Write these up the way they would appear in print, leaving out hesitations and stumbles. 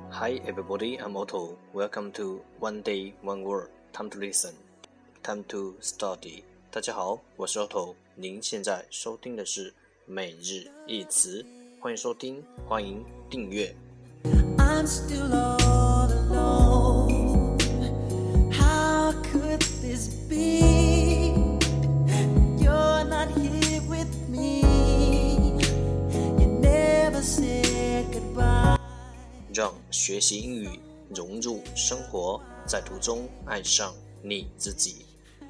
Hi everybody, I'm Otto. Welcome to One Day, One Word. Time to listen. Time to study. 大家好，我是 Otto。您现在收听的是每日一词，欢迎收听，欢迎订阅。 I'm still all alone. How could this be? You're not here with me. You never said goodbye. 让学习英语融入生活，在途中爱上你自己。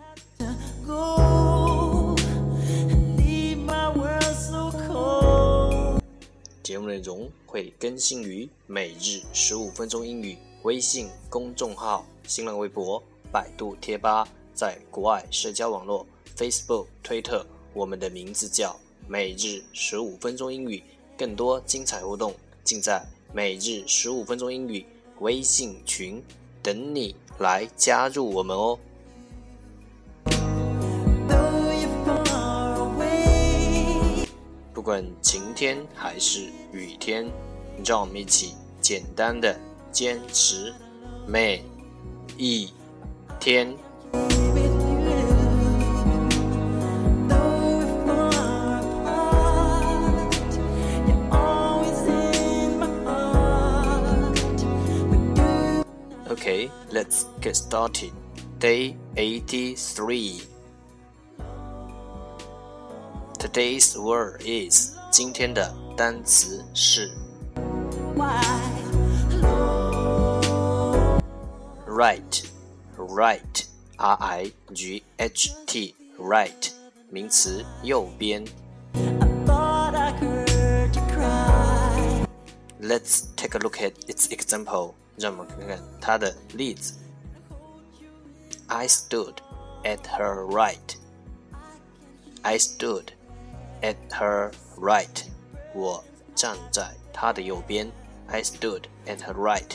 Go, leave my world so cold. 节目内容会更新于每日15分钟英语微信公众号、新浪微博、百度贴吧，在国外社交网络 Facebook、推特，我们的名字叫每日15分钟英语。更多精彩活动尽在每日15分钟英语微信群，等你来加入我们哦。不管晴天还是雨天，让我们一起简单的坚持每一天。Okay, let's get started. Day 83. Today's word is 今天的单词是 right, right, R-I-G-H-T, right, 名词右边。Let's take a look at its example. 让我们看看它的例子。I stood at her right. I stood at her right. 我站在她的右边。I stood at her right.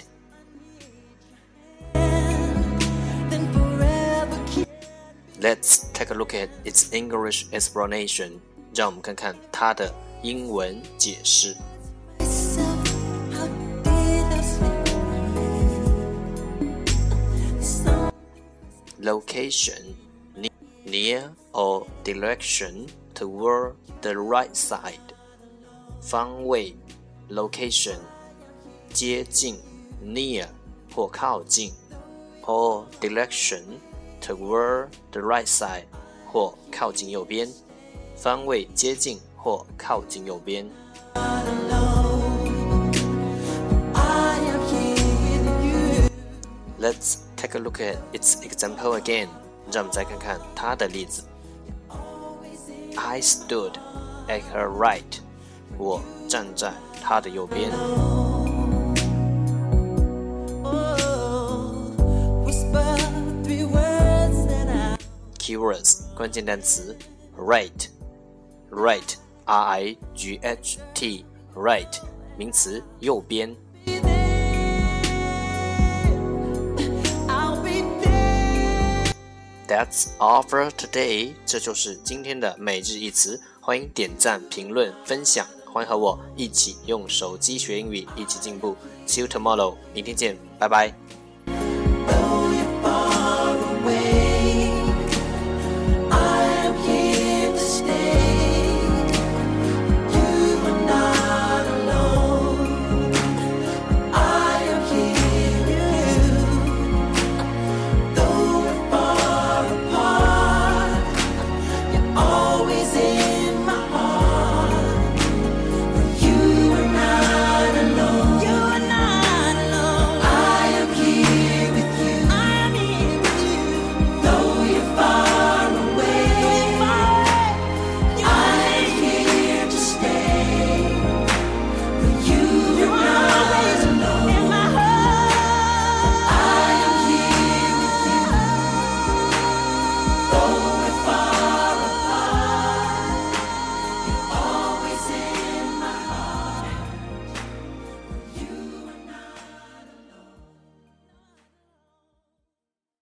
Let's take a look at its English explanation. 让我们看看它的英文解释。Location, near or direction toward the right side. 方位 location, 接近 near 或靠近 or direction toward the right side 或靠近右边，方位接近或靠近右边。Let's take a look at its example again. 让我们再看看它的例子。I stood at her right. 我站在她的右边。Keywords 关键单词 right, right, R-I-G-H-T, right 名词右边。That's all for today. 这就是今天的每日一词。欢迎点赞、评论、分享，欢迎和我一起用手机学英语，一起进步。See you tomorrow. 明天见，拜拜。